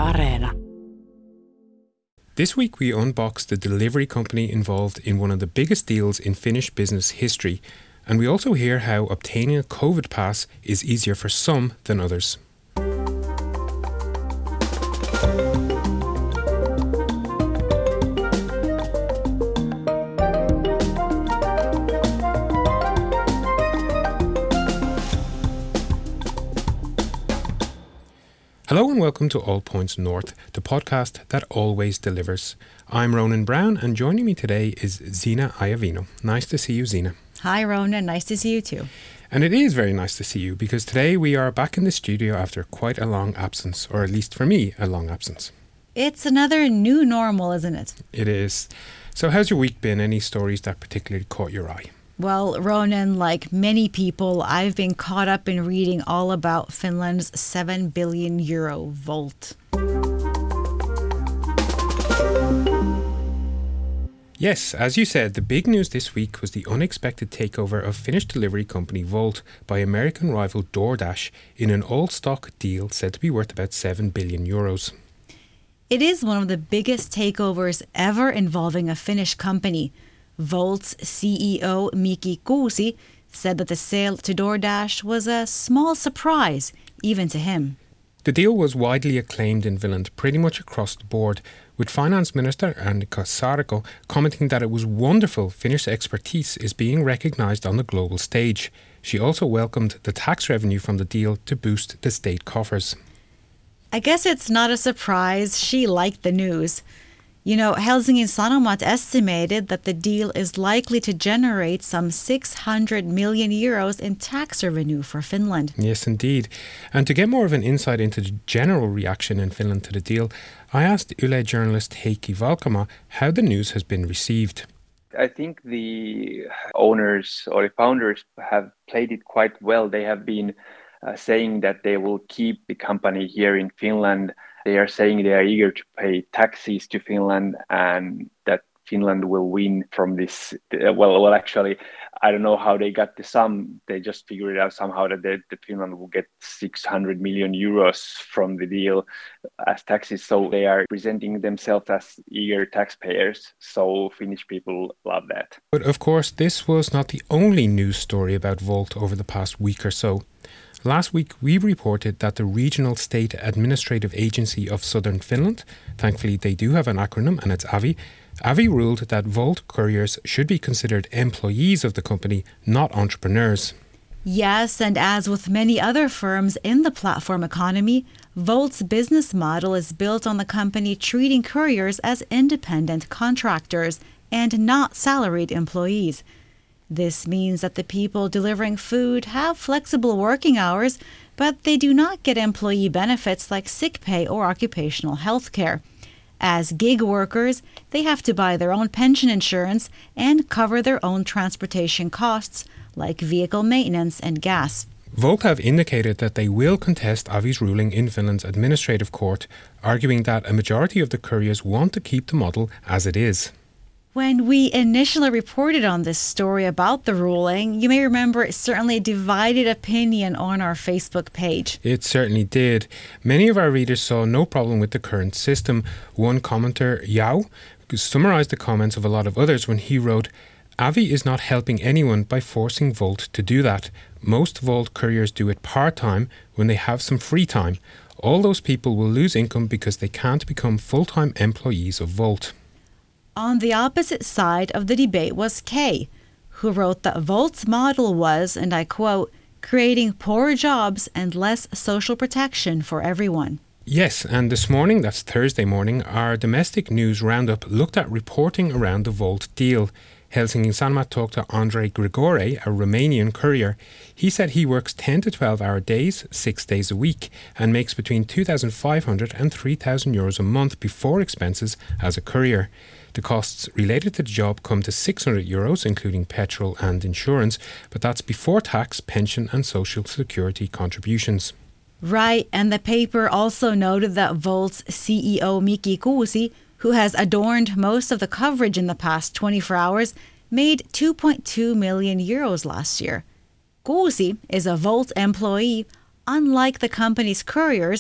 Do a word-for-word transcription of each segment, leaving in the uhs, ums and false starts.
Areena. This week we unbox the delivery company involved in one of the biggest deals in Finnish business history, and we also hear how obtaining a COVID pass is easier for some than others. Hello and welcome to All Points North, the podcast that always delivers. I'm Ronan Brown, and joining me today is Zina Iovino. Nice to see you, Zina. Hi, Ronan. Nice to see you too. And it is very nice to see you because today we are back in the studio after quite a long absence, or at least for me, a long absence. It's another new normal, isn't it? It is. So how's your week been? Any stories that particularly caught your eye? Well, Ronan, like many people, I've been caught up in reading all about Finland's seven billion euro Volt. Yes, as you said, the big news this week was the unexpected takeover of Finnish delivery company Volt by American rival DoorDash in an all-stock deal said to be worth about seven billion euros. It is one of the biggest takeovers ever involving a Finnish company. Volt's C E O Miki Kuusi said that the sale to DoorDash was a small surprise, even to him. The deal was widely acclaimed in Finland pretty much across the board, with Finance Minister Annika Saarikko commenting that it was wonderful Finnish expertise is being recognised on the global stage. She also welcomed the tax revenue from the deal to boost the state coffers. I guess it's not a surprise she liked the news. You know, Helsingin Sanomat estimated that the deal is likely to generate some six hundred million euros in tax revenue for Finland. Yes, indeed. And to get more of an insight into the general reaction in Finland to the deal, I asked Yle journalist Heikki Valkama how the news has been received. I think the owners or the founders have played it quite well. They have been uh, saying that they will keep the company here in Finland. They are saying they are eager to pay taxes to Finland and that Finland will win from this. Well, well, actually, I don't know how they got the sum. They just figured it out somehow that, they, that Finland will get six hundred million euros from the deal as taxes. So they are presenting themselves as eager taxpayers. So Finnish people love that. But of course, this was not the only news story about Volt over the past week or so. Last week, we reported that the Regional State Administrative Agency of Southern Finland, thankfully they do have an acronym and it's A V I, A V I ruled that Volt couriers should be considered employees of the company, not entrepreneurs. Yes, and as with many other firms in the platform economy, Volt's business model is built on the company treating couriers as independent contractors and not salaried employees. This means that the people delivering food have flexible working hours, but they do not get employee benefits like sick pay or occupational health care. As gig workers, they have to buy their own pension insurance and cover their own transportation costs, like vehicle maintenance and gas. Volt have indicated that they will contest A V I's ruling in Finland's administrative court, arguing that a majority of the couriers want to keep the model as it is. When we initially reported on this story about the ruling, you may remember it certainly divided opinion on our Facebook page. It certainly did. Many of our readers saw no problem with the current system. One commenter, Yao, summarised the comments of a lot of others when he wrote, A V I is not helping anyone by forcing Volt to do that. Most Volt couriers do it part-time when they have some free time. All those people will lose income because they can't become full-time employees of Volt. On the opposite side of the debate was Kay, who wrote that Volt's model was, and I quote, creating poor jobs and less social protection for everyone. Yes, and this morning, that's Thursday morning, our domestic news roundup looked at reporting around the Volt deal. Helsingin Sanomat talked to Andrei Grigore, a Romanian courier. He said he works ten to twelve hour days, six days a week, and makes between two thousand five hundred and three thousand euros a month before expenses as a courier. The costs related to the job come to six hundred euros, including petrol and insurance, but that's before tax, pension and social security contributions. Right, and the paper also noted that Volt's C E O Miki Kuusi, who has adorned most of the coverage in the past twenty-four hours, made two point two million euros last year. Kuusi is a Volt employee, unlike the company's couriers,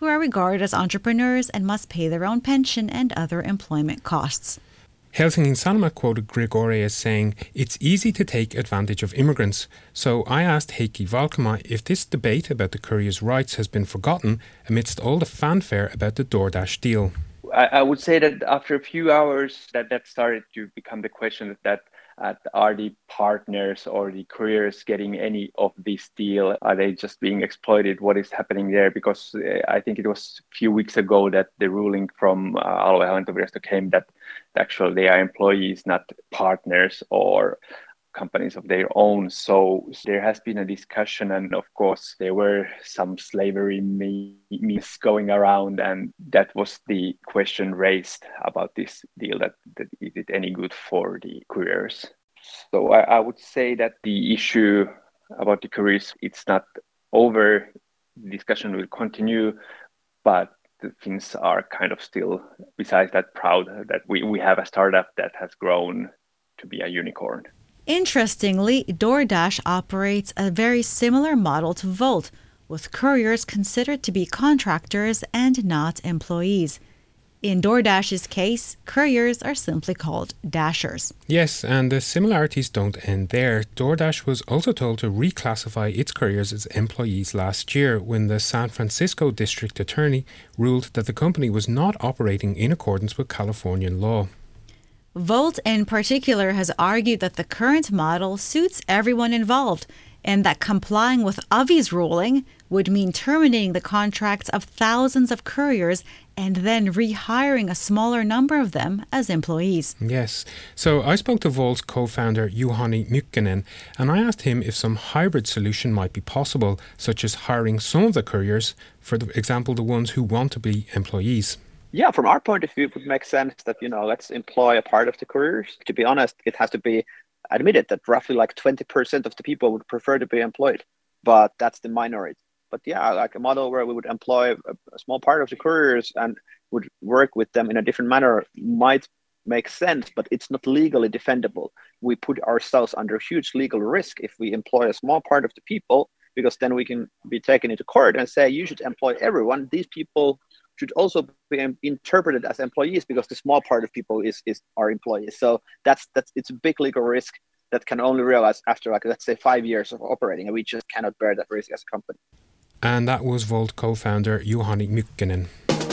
who are regarded as entrepreneurs and must pay their own pension and other employment costs. Helsingin Sanomat quoted Grigore as saying, "It's easy to take advantage of immigrants." So I asked Heikki Valkama if this debate about the courier's rights has been forgotten amidst all the fanfare about the DoorDash deal. I, I would say that after a few hours that that started to become the question that uh, are the partners or the couriers getting any of this deal? Are they just being exploited? What is happening there? Because uh, I think it was a few weeks ago that the ruling from uh, Aluehallintovirasto came that actually they are employees, not partners or companies of their own. So there has been a discussion, and of course there were some slavery memes going around, and that was the question raised about this deal, that, that is it any good for the couriers? So I, I would say that the issue about the couriers, it's not over. The discussion will continue, but the Finns are kind of still, besides that, proud that we, we have a startup that has grown to be a unicorn. Interestingly, DoorDash operates a very similar model to Volt, with couriers considered to be contractors and not employees. In DoorDash's case, couriers are simply called dashers. Yes, and the similarities don't end there. DoorDash was also told to reclassify its couriers as employees last year when the San Francisco district attorney ruled that the company was not operating in accordance with Californian law. Volt in particular has argued that the current model suits everyone involved and that complying with Avi's ruling would mean terminating the contracts of thousands of couriers and then rehiring a smaller number of them as employees. Yes. So I spoke to Volt's co-founder Juhani Mykkänen, and I asked him if some hybrid solution might be possible, such as hiring some of the couriers, for example, the ones who want to be employees. Yeah, from our point of view, it would make sense that, you know, let's employ a part of the couriers. To be honest, it has to be admitted that roughly like twenty percent of the people would prefer to be employed, but that's the minority. But yeah, like a model where we would employ a, a small part of the couriers and would work with them in a different manner might make sense, but it's not legally defendable. We put ourselves under huge legal risk if we employ a small part of the people, because then we can be taken into court and say, you should employ everyone. These people should also be interpreted as employees because the small part of people is is our employees. So that's that's it's a big legal risk that can only realize after, like, let's say five years of operating, and we just cannot bear that risk as a company. And that was Volt co-founder Juhani Mykkänen.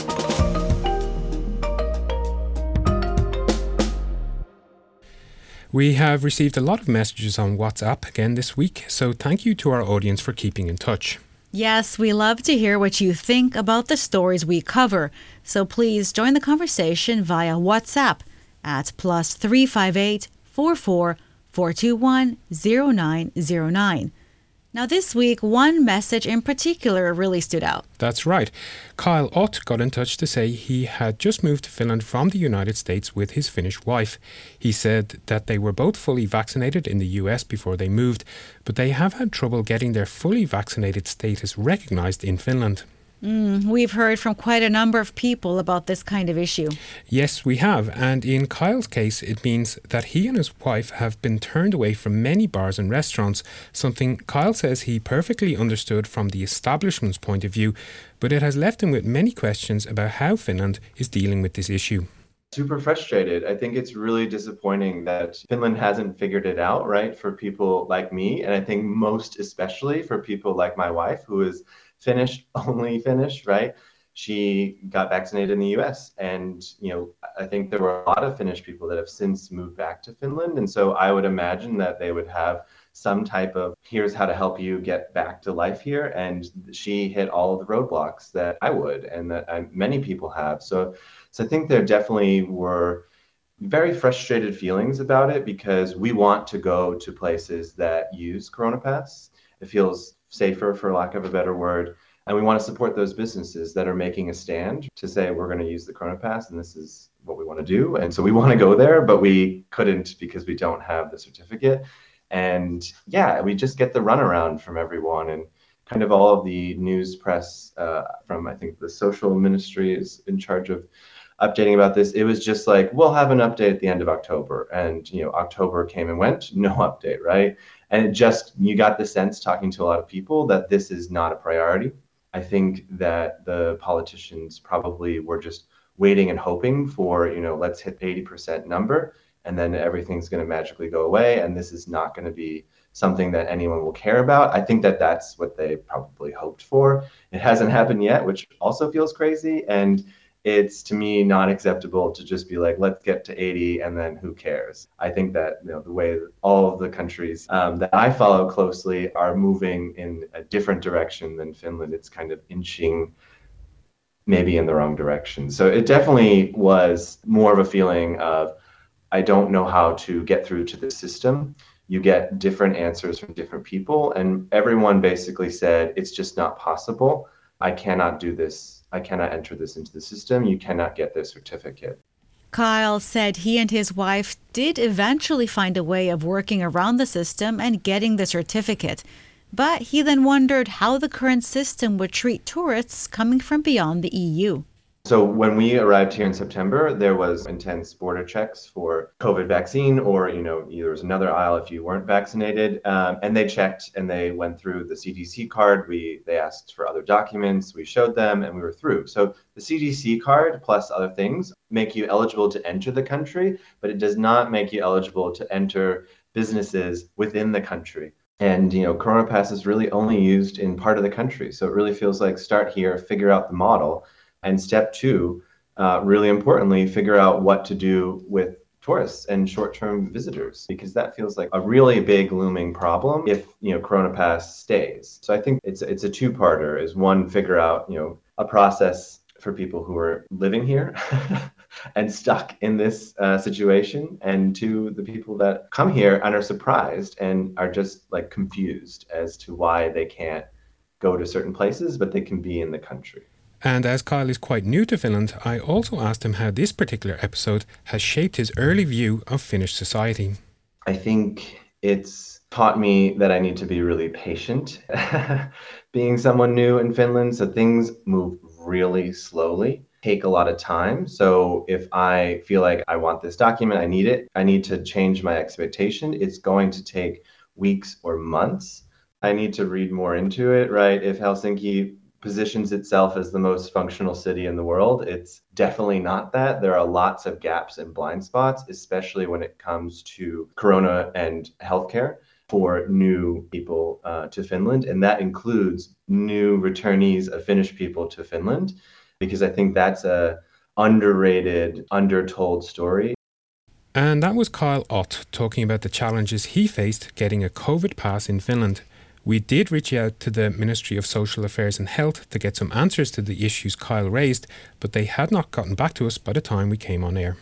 We have received a lot of messages on WhatsApp again this week, so thank you to our audience for keeping in touch. Yes, we love to hear what you think about the stories we cover. So please join the conversation via WhatsApp at plus three five eight, four four, four two one, zero nine zero nine. Now this week, one message in particular really stood out. That's right. Kyle Ott got in touch to say he had just moved to Finland from the United States with his Finnish wife. He said that they were both fully vaccinated in the U S before they moved, but they have had trouble getting their fully vaccinated status recognized in Finland. Mm, we've heard from quite a number of people about this kind of issue. Yes, we have. And in Kyle's case, it means that he and his wife have been turned away from many bars and restaurants, something Kyle says he perfectly understood from the establishment's point of view, but it has left him with many questions about how Finland is dealing with this issue. Super frustrated. I think it's really disappointing that Finland hasn't figured it out, right, for people like me. And I think most especially for people like my wife, who is Finnish, only Finnish, right? She got vaccinated in the U S. And, you know, I think there were a lot of Finnish people that have since moved back to Finland. And so I would imagine that they would have some type of, here's how to help you get back to life here. And she hit all of the roadblocks that I would and that I, many people have. So, so I think there definitely were very frustrated feelings about it because we want to go to places that use CoronaPass. It feels safer, for lack of a better word. And we want to support those businesses that are making a stand to say, we're going to use the CoronaPass and this is what we want to do. And so we want to go there, but we couldn't because we don't have the certificate. And yeah, we just get the runaround from everyone. And kind of all of the news press uh, from, I think, the social ministry is in charge of updating about this. It was just like, we'll have an update at the end of October. And, you know, October came and went, no update, right? And it just, you got the sense talking to a lot of people that this is not a priority. I think that the politicians probably were just waiting and hoping for, you know, let's hit eighty percent number and then everything's going to magically go away. And this is not going to be something that anyone will care about. I think that that's what they probably hoped for. It hasn't happened yet, which also feels crazy. And it's, to me, not acceptable to just be like, let's get to eighty and then who cares? I think that, you know, the way all of the countries um, that I follow closely are moving in a different direction than Finland. It's kind of inching maybe in the wrong direction. So it definitely was more of a feeling of, I don't know how to get through to the system. You get different answers from different people, and everyone basically said, it's just not possible. I cannot do this. I cannot enter this into the system. You cannot get this certificate. Kyle said he and his wife did eventually find a way of working around the system and getting the certificate. But he then wondered how the current system would treat tourists coming from beyond the E U. So when we arrived here in September, there was intense border checks for COVID vaccine, or, you know, there was another aisle if you weren't vaccinated. Um, and they checked and they went through the C D C card. We They asked for other documents. We showed them and we were through. So the C D C card plus other things make you eligible to enter the country, but it does not make you eligible to enter businesses within the country. And, you know, Corona Pass is really only used in part of the country. So it really feels like start here, figure out the model. And step two, uh, really importantly, figure out what to do with tourists and short-term visitors, because that feels like a really big looming problem if, you know, Corona Pass stays. So I think it's it's a two-parter. Is one, figure out, you know, a process for people who are living here and stuck in this uh, situation, and two, the people that come here and are surprised and are just like confused as to why they can't go to certain places, but they can be in the country. And as Kyle is quite new to Finland, I also asked him how this particular episode has shaped his early view of Finnish society. I think it's taught me that I need to be really patient being someone new in Finland. So things move really slowly, take a lot of time. So if I feel like I want this document, I need it, I need to change my expectation. It's going to take weeks or months. I need to read more into it, right? If Helsinki positions itself as the most functional city in the world, it's definitely not that. There are lots of gaps and blind spots, especially when it comes to Corona and healthcare for new people uh, to Finland. And that includes new returnees of Finnish people to Finland, because I think that's a underrated, undertold story. And that was Kyle Ott talking about the challenges he faced getting a COVID pass in Finland. We did reach out to the Ministry of Social Affairs and Health to get some answers to the issues Kyle raised, but they had not gotten back to us by the time we came on air.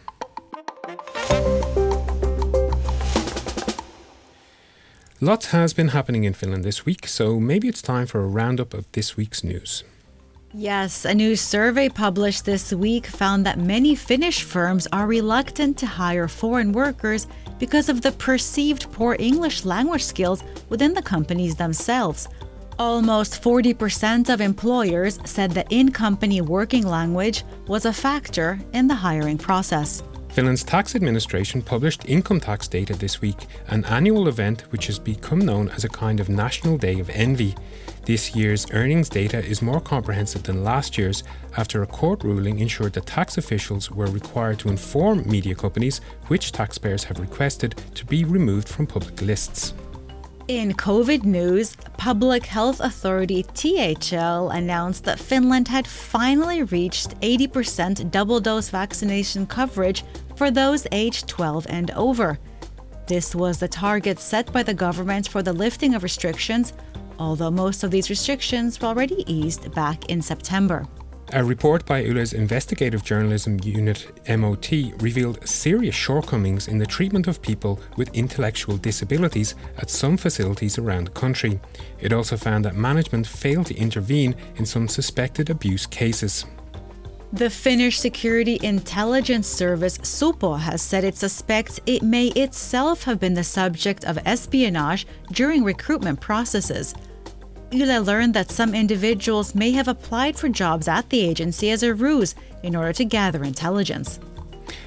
Lots has been happening in Finland this week, so maybe it's time for a roundup of this week's news. Yes, a new survey published this week found that many Finnish firms are reluctant to hire foreign workers because of the perceived poor English language skills within the companies themselves. Almost forty percent of employers said that in-company working language was a factor in the hiring process. Finland's tax administration published income tax data this week, an annual event which has become known as a kind of national day of envy. This year's earnings data is more comprehensive than last year's after a court ruling ensured that tax officials were required to inform media companies which taxpayers have requested to be removed from public lists. In COVID news, Public Health Authority T H L announced that Finland had finally reached eighty percent double-dose vaccination coverage for those aged twelve and over. This was the target set by the government for the lifting of restrictions, although most of these restrictions were already eased back in September. A report by Yle's investigative journalism unit M O T revealed serious shortcomings in the treatment of people with intellectual disabilities at some facilities around the country. It also found that management failed to intervene in some suspected abuse cases. The Finnish Security Intelligence Service Supo has said it suspects it may itself have been the subject of espionage during recruitment processes. Yle learned that some individuals may have applied for jobs at the agency as a ruse in order to gather intelligence.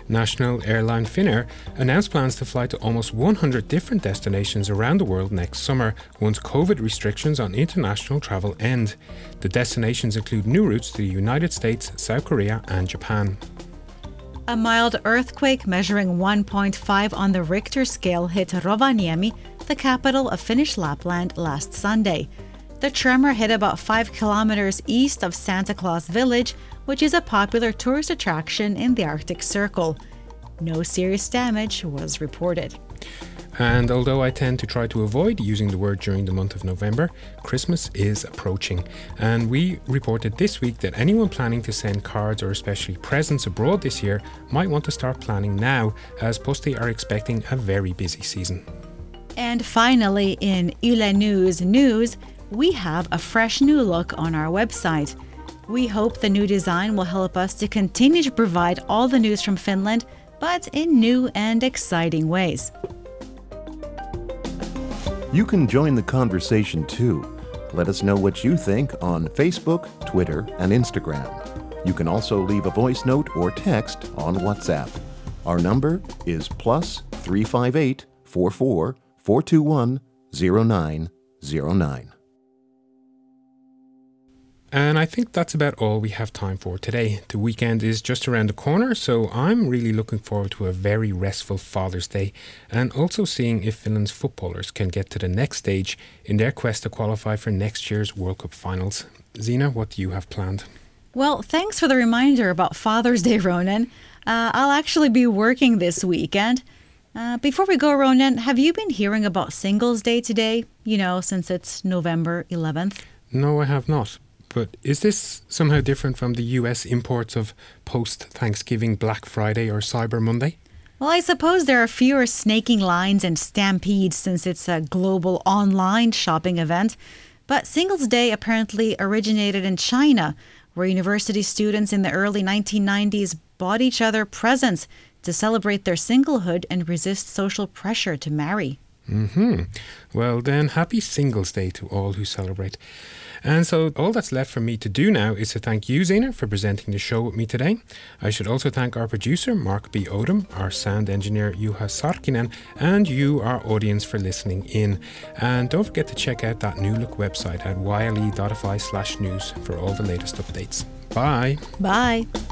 National airline Finnair announced plans to fly to almost one hundred different destinations around the world next summer once COVID restrictions on international travel end. The destinations include new routes to the United States, South Korea and Japan. A mild earthquake measuring one point five on the Richter scale hit Rovaniemi, the capital of Finnish Lapland, last Sunday. The tremor hit about five kilometers east of Santa Claus Village, which is a popular tourist attraction in the Arctic Circle. No serious damage was reported. And although I tend to try to avoid using the word during the month of November, Christmas is approaching. And we reported this week that anyone planning to send cards or especially presents abroad this year might want to start planning now, as Posti are expecting a very busy season. And finally, in Yle News News, we have a fresh new look on our website. We hope the new design will help us to continue to provide all the news from Finland, but in new and exciting ways. You can join the conversation too. Let us know what you think on Facebook, Twitter, and Instagram. You can also leave a voice note or text on WhatsApp. Our number is plus three five eight, four four, four two one, zero nine zero nine. And I think that's about all we have time for today. The weekend is just around the corner, so I'm really looking forward to a very restful Father's Day and also seeing if Finland's footballers can get to the next stage in their quest to qualify for next year's World Cup finals. Zina, what do you have planned? Well, thanks for the reminder about Father's Day, Ronan. Uh, I'll actually be working this weekend. Uh, before we go, Ronan, have you been hearing about Singles Day today? You know, since it's November eleventh. No, I have not. But is this somehow different from the U S imports of post-Thanksgiving Black Friday or Cyber Monday? Well, I suppose there are fewer snaking lines and stampedes since it's a global online shopping event. But Singles Day apparently originated in China, where university students in the early nineteen nineties bought each other presents to celebrate their singlehood and resist social pressure to marry. Mm-hmm. Well then, happy Singles Day to all who celebrate. And so all that's left for me to do now is to thank you, Zina, for presenting the show with me today. I should also thank our producer, Mark B. Odom, our sound engineer, Juha Sarkinen, and you, our audience, for listening in. And don't forget to check out that new look website at yle.fi slash news for all the latest updates. Bye. Bye.